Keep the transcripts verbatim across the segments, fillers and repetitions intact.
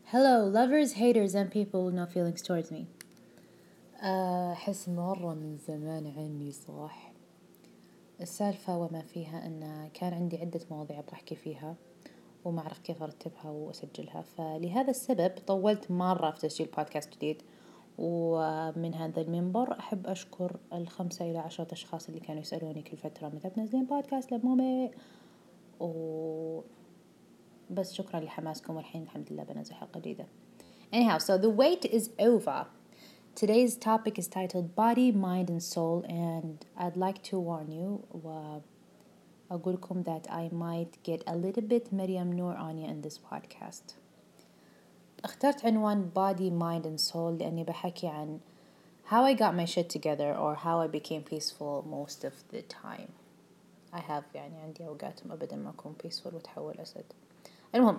Hello, lovers, haters, and people with no feelings towards me. أحس مرة من زمان عني صح. السالفة وما فيها أن كان عندي عدة مواضيع بحكي فيها وما أعرف كيف أرتبها وأسجلها، فلهذا السبب طولت مرة في تسجيل بودكاست جديد. ومن هذا المنبر أحب أشكر الخمسة إلى عشرة أشخاص اللي كانوا يسألوني كل فترة متى بنزلين بودكاست لمومي، و بس شكرا لحماسكم، والحين الحمد لله بنزل حلقة جديدة. Anyhow, so the wait is over. Today's topic is titled Body, Mind and Soul, and I'd like to warn you وأقولكم that I might get a little bit Maryam Noor on you in this podcast. اخترت عنوان Body, Mind and Soul لأني بحكي عن how I got my shit together or how I became peaceful most of the time. I have يعني عندي أوقات أبدا ما أكون peaceful وتحول أسد. المهم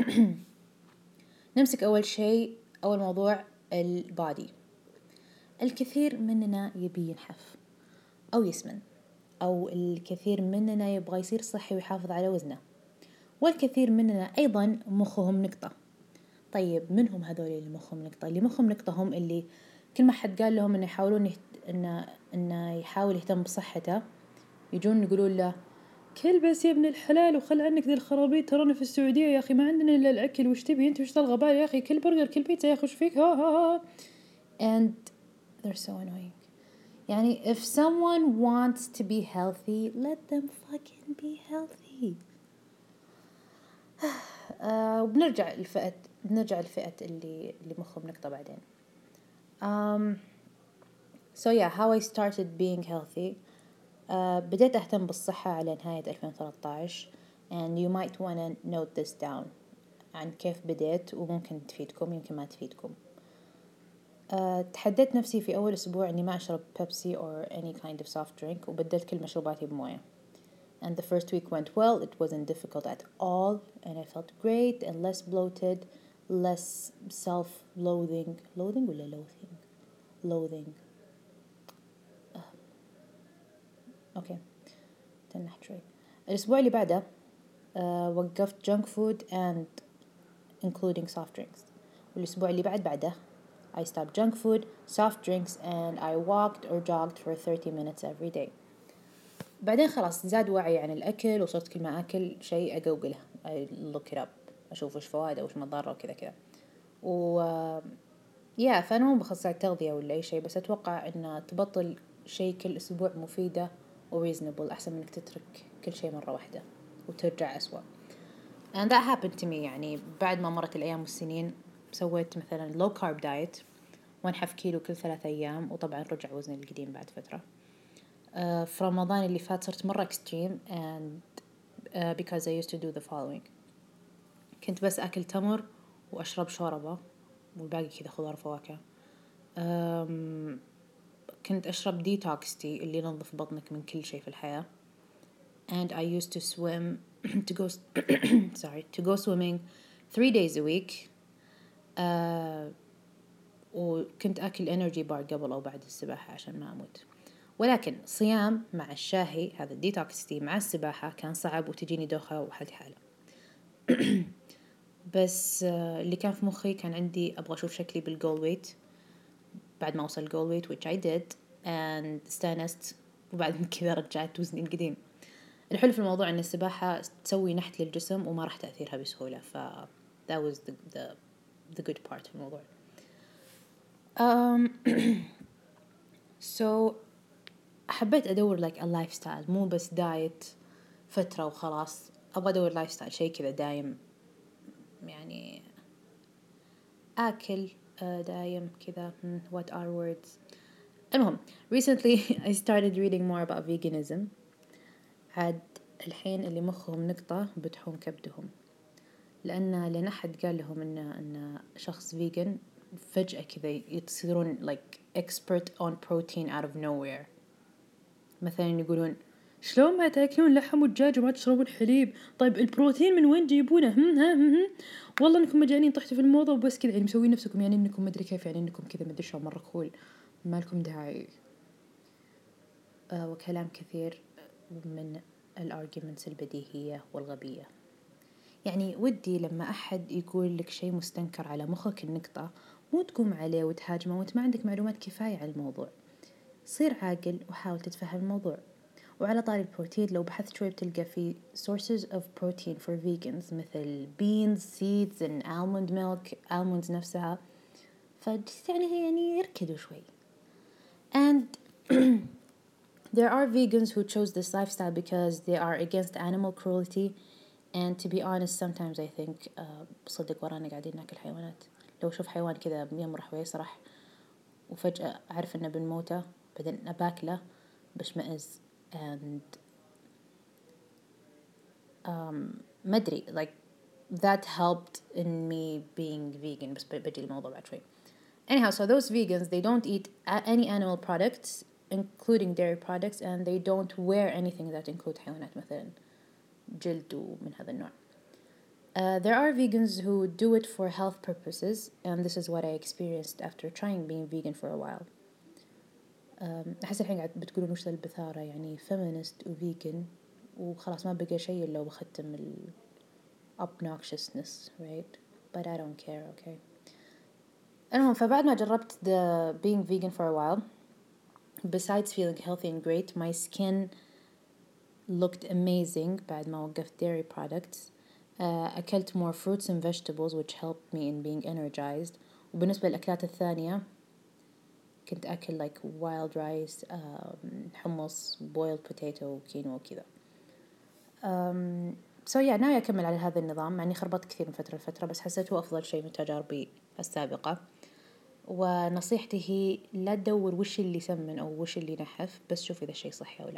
نمسك أول شيء أول موضوع البادي. الكثير مننا يبي ينحف أو يسمن، أو الكثير مننا يبغى يصير صحي ويحافظ على وزنه، والكثير مننا أيضا مخهم نقطة. طيب منهم هذول اللي مخهم نقطة؟ اللي مخهم نقطة هم اللي كل ما حد قال لهم إنه يحاولون يهت... إنه إنه يحاول يهتم بصحته يجون يقولون له كل بس يا ابن الحلال وخل عنك ذي الخرابيط، ترانا في السعودية يا أخي ما عندنا إلا الأكل، وش تبي أنت وش تلغى يا أخي، كل برجر كل بيتزا يا أخي وش فيك، ها ها ها and they're so annoying. يعني if someone wants to be healthy let them fucking be healthy. uh, وبنرجع الفئة بنرجع الفئة اللي اللي مخهم نقطة بعدين. um, so yeah how I started being healthy. uh, بديت أهتم بالصحة على نهاية ألفين وثلاثة عشر and you might wanna note this down عن كيف بديت وممكن تفيدكم يمكن ما تفيدكم. Uh, تحددت نفسي في أول أسبوع إني ما أشرب بيبسي or any kind of soft drink وبدلت كل مشروباتي بموية. And the first week went well. It wasn't difficult at all and I felt great and less bloated, less self-loathing. Loathing ولا loathing? Loathing. uh. Okay. تنحت شوي. الأسبوع اللي بعده uh, وقفت junk food and including soft drinks. والأسبوع اللي بعد بعده I stopped junk food, soft drinks, and I walked or jogged for thirty minutes every day. بعدين خلاص زاد وعي عن الأكل وصرت كل ما أكل شيء أجوجله I look it up أشوف وش فوائده وش مضاره وكذا كذا. و يا فأنا مو بخص التغذية ولا أي شيء، بس أتوقع إن تبطل شيء كل أسبوع مفيدة و reasonable أحسن منك تترك كل شيء مرة واحدة وترجع أسوأ. and that happened to me. يعني بعد ما مرت الأيام والسنين سويت مثلا low carb diet وانحف كيلو كل ثلاثة أيام، وطبعا رجع وزني القديم بعد فترة. uh, في رمضان اللي فات صرت مرة extreme and uh, because I used to do the following. كنت بس أكل تمر وأشرب شوربة والباقي كذا خضار فواكه. um, كنت أشرب detox tea اللي ينظف بطنك من كل شيء في الحياة. and I used to swim to go sorry to go swimming three days a week. uh, وكنت أكل energy bar قبل أو بعد السباحة عشان ما أموت. ولكن صيام مع الشاهي هذا الديتوكس تي مع السباحة كان صعب وتجيني دوخة وحالتي حالة. بس اللي كان في مخي كان عندي أبغى أشوف شكلي بالجول ويت بعد ما وصل الجول ويت which I did and استانست، وبعد كذا رجعت وزني القديم. الحلو في الموضوع أن السباحة تسوي نحت للجسم وما راح تأثيرها بسهولة، ف that was the the the good part في الموضوع. um so حبيت أدور like a lifestyle مو بس دايت فترة وخلاص، أبغى أدور lifestyle شيء كذا دايم، يعني أكل دايم كذا. what are words. المهم recently I started reading more about veganism. عاد الحين اللي مخهم نقطة بتحوم كبدهم، لأن لأن أحد قال لهم إن إن شخص vegan فجأة كذا يصيرون like expert on protein out of nowhere. مثلا يقولون شلون ما تاكلون لحم ودجاج وما تشربون حليب؟ طيب البروتين من وين جيبونه؟ هم ها هم والله انكم مجانين طحتوا في الموضة وبس كذا، يعني مسوين نفسكم يعني انكم مدري كيف، يعني انكم كذا مدري شو مرة كول، ما لكم داعي. آه وكلام كثير من الارجيومنتس البديهية والغبية. يعني ودي لما أحد يقول لك شيء مستنكر على مخك النقطة مو تقوم عليه وتهاجمه وانت ما عندك معلومات كفاية عن الموضوع. صير عاقل وحاول تتفهم الموضوع. وعلى طاري البروتين لو بحثت شوي بتلقى في sources of protein for vegans مثل beans, seeds and almond milk, almonds نفسها. فجست يعني هي يعني يركدوا شوي. And there are vegans who chose this lifestyle because they are against animal cruelty. And to be honest, sometimes I think uh, بصدق ورانا قاعدين ناكل حيوانات. لو شوف حيوان كذا يمرح ويسرح وفجأة أعرف إنه بنموته بعدين أباكله بشمئز. And um, ما أدري like that helped in me being vegan. بس بجي الموضوع بعد شوي. Anyhow, so those vegans, they don't eat any animal products including dairy products, and they don't wear anything that include حيوانات مثلا جلد ومن هذا النوع. Uh, there are vegans who do it for health purposes, and this is what I experienced after trying being vegan for a while. Um, أحس الحين قاعد بتقولون وش ذا البثارة يعني feminist و vegan وخلاص ما بقى شيء إلا وبختم ال obnoxiousness, right? But I don't care, okay. المهم فبعد ما جربت the being vegan for a while, besides feeling healthy and great, my skin looked amazing بعد ما وقفت dairy products. uh, أكلت more fruits and vegetables which helped me in being energized. وبالنسبة للأكلات الثانية كنت أكل like wild rice, um, hummus, boiled potato وكينو وكذا. um, so yeah ناوي أكمل على هذا النظام مع أني خربطت كثير من فترة لفترة بس حسيته أفضل شيء من تجاربي السابقة. ونصيحتي هي لا تدور وش اللي يسمن أو وش اللي ينحف بس شوف إذا الشيء صحي أو لا.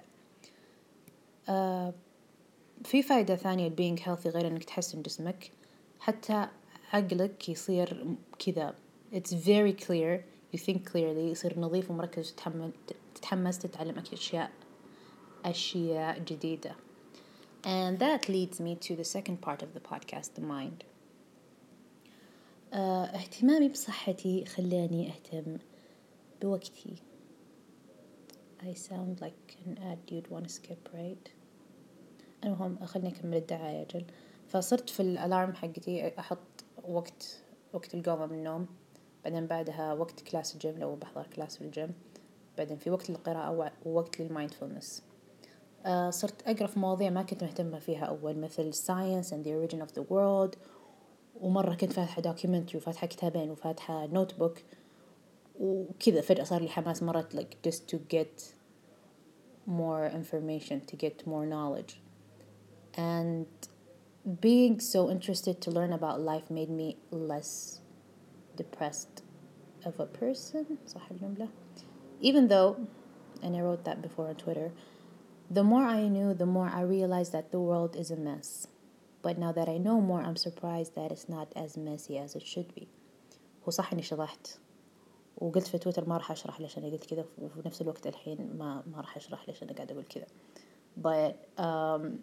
uh, في فائدة ثانية being healthy غير أنك تحسن جسمك حتى عقلك يصير كذا it's very clear, you think clearly, يصير نظيف ومركز تتحمل تتحمس تتعلم أشياء أشياء جديدة. And that leads me to the second part of the podcast, the mind. uh, اهتمامي بصحتي خلاني أهتم بوقتي. I sound like an ad you'd want to skip, right? المهم خلني أكمل الدعاية أجل. فصرت في الألارم حقتي أحط وقت وقت القومة من النوم، بعدين بعدها وقت كلاس الجيم لو بحضر كلاس في الجيم، بعدين في وقت للقراءة ووقت للمايندفولنس. uh, صرت أقرأ في مواضيع ما كنت مهتمة فيها أول مثل science and the origin of the world، ومرة كنت فاتحة documentary وفاتحة كتابين وفاتحة notebook وكذا فجأة صار لي حماس مرة like just to get more information, to get more knowledge. And being so interested to learn about life made me less depressed of a person, صح الجملة? Even though, and I wrote that before on Twitter, the more I knew, the more I realized that the world is a mess. But now that I know more, I'm surprised that it's not as messy as it should be. هو صح إني شطحت وقلت في تويتر ما راح أشرح ليش أنا قلت كذا، وفي نفس الوقت الحين ما ما راح أشرح ليش أنا قاعدة أقول كذا. But um,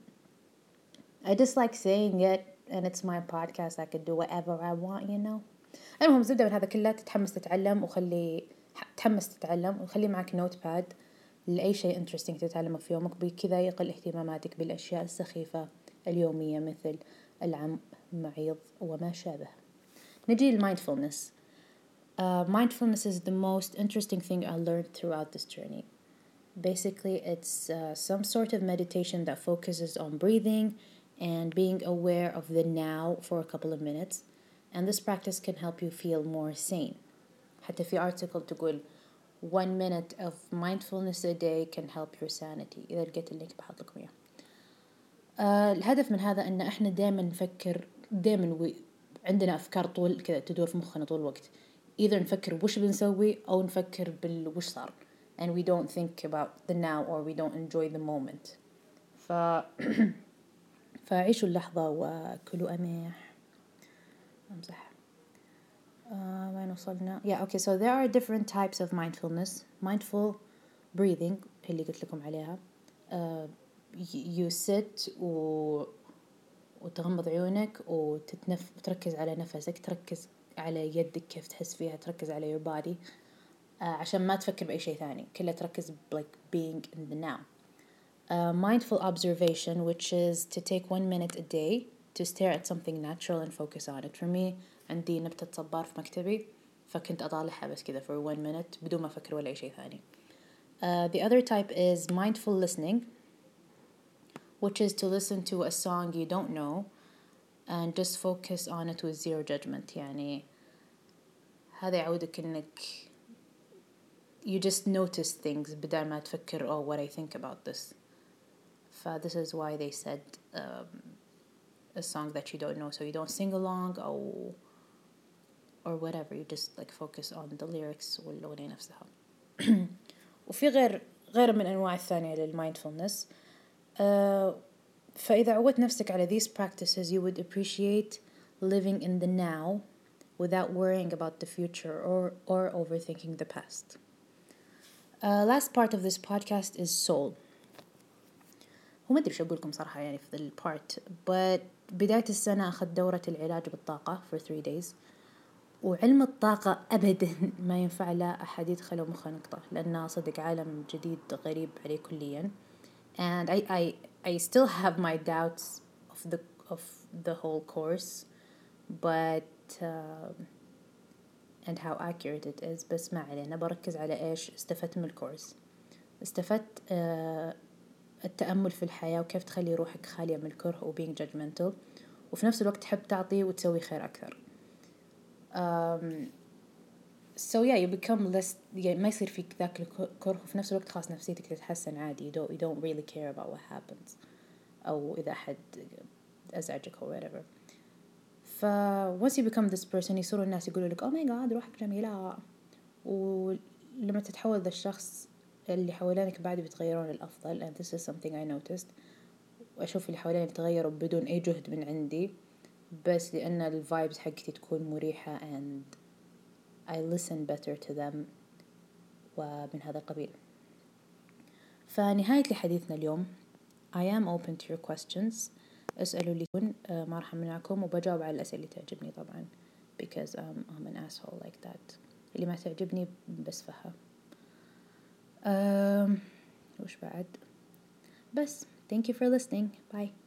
I just like saying it, and it's my podcast. I could do whatever I want, you know. المهم زبدة من هذا كله تتحمس تتعلم وخلي تحمس تتعلم وخلي معك نوت باد لأي شيء interesting تتعلمه في يومك، بكذا يقل اهتماماتك بالأشياء السخيفة اليومية مثل العم معيض وما شابه. نجي للمايندفولنس. Uh, mindfulness is the most interesting thing I learned throughout this journey. Basically, it's uh, some sort of meditation that focuses on breathing and being aware of the now for a couple of minutes. And this practice can help you feel more sane. حتى في article تقول one minute of mindfulness a day can help your sanity. إذا لقيت اللينك بحط لكم إياه. آه الهدف من هذا أن إحنا دائما نفكر دائما عندنا أفكار طول كذا تدور في مخنا طول الوقت. Either نفكر وش بنسوي أو نفكر بالوش صار. And we don't think about the now or we don't enjoy the moment. ف فعيشوا اللحظة وكلوا أميح. أمزح. Uh, وين وصلنا؟ Yeah, okay, so there are different types of mindfulness. Mindful breathing اللي قلت لكم عليها. Uh, you sit و وتغمض عيونك وتتنف وتركز على نفسك، تركز على يدك كيف تحس فيها، تركز على your body uh, عشان ما تفكر بأي شيء ثاني، كلها تركز like being in the now. Uh, mindful observation, which is to take one minute a day to stare at something natural and focus on it. For me عندي نبتة صبار في مكتبي فكنت أطالعها بس كذا for one minute بدون ما أفكر ولا أي شيء ثاني. Uh, the other type is mindful listening, which is to listen to a song you don't know and just focus on it with zero judgment. يعني هذا يعودك إنك you just notice things بدل ما تفكر oh what I think about this. So this is why they said um, a song that you don't know, so you don't sing along or or whatever, you just like focus on the lyrics والأغنية نفسها. وفي غير غير من أنواع الثانية للمايندفولنس. uh, فإذا عودت نفسك على these practices you would appreciate living in the now without worrying about the future or or overthinking the past. Uh, last part of this podcast is soul. هو ما أدري شو أقول لكم صراحة يعني في the part, but بداية السنة أخذت دورة العلاج بالطاقة for three days. وعلم الطاقة أبدا ما ينفع لا أحد يدخله مخه نقطة لأنه صدق عالم جديد غريب عليه كليا. And I, I, I still have my doubts of the, of the whole course, but uh, and how accurate it is. بس ما علينا, بركز على إيش استفدت من الكورس. استفدت uh, التأمل في الحياة وكيف تخلي روحك خالية من الكره و being judgmental, وفي نفس الوقت تحب تعطي وتسوي خير أكثر. Um, so yeah, you become less, يعني ما يصير فيك ذاك الكره, وفي نفس الوقت خاص نفسيتك تتحسن عادي. you don't, you don't really care about what happens أو إذا أحد أزعجك أو whatever. ف once you become this person يصيروا الناس يقولوا لك oh my god روحك جميلة, ولما تتحول ذا الشخص اللي حوالينك بعد بيتغيرون للأفضل. and this is something I noticed. وأشوف اللي حواليني يتغيروا بدون أي جهد من عندي, بس لأن الفايبز حقتي تكون مريحة and I listen better to them ومن هذا القبيل. فنهاية لحديثنا اليوم, I am open to your questions. اسألوا لي كون ما راح أمنعكم, وبجاوب على الأسئلة اللي تعجبني طبعا because um, I'm an asshole like that. اللي ما تعجبني بسفها. um, وش بعد بس thank you for listening. Bye.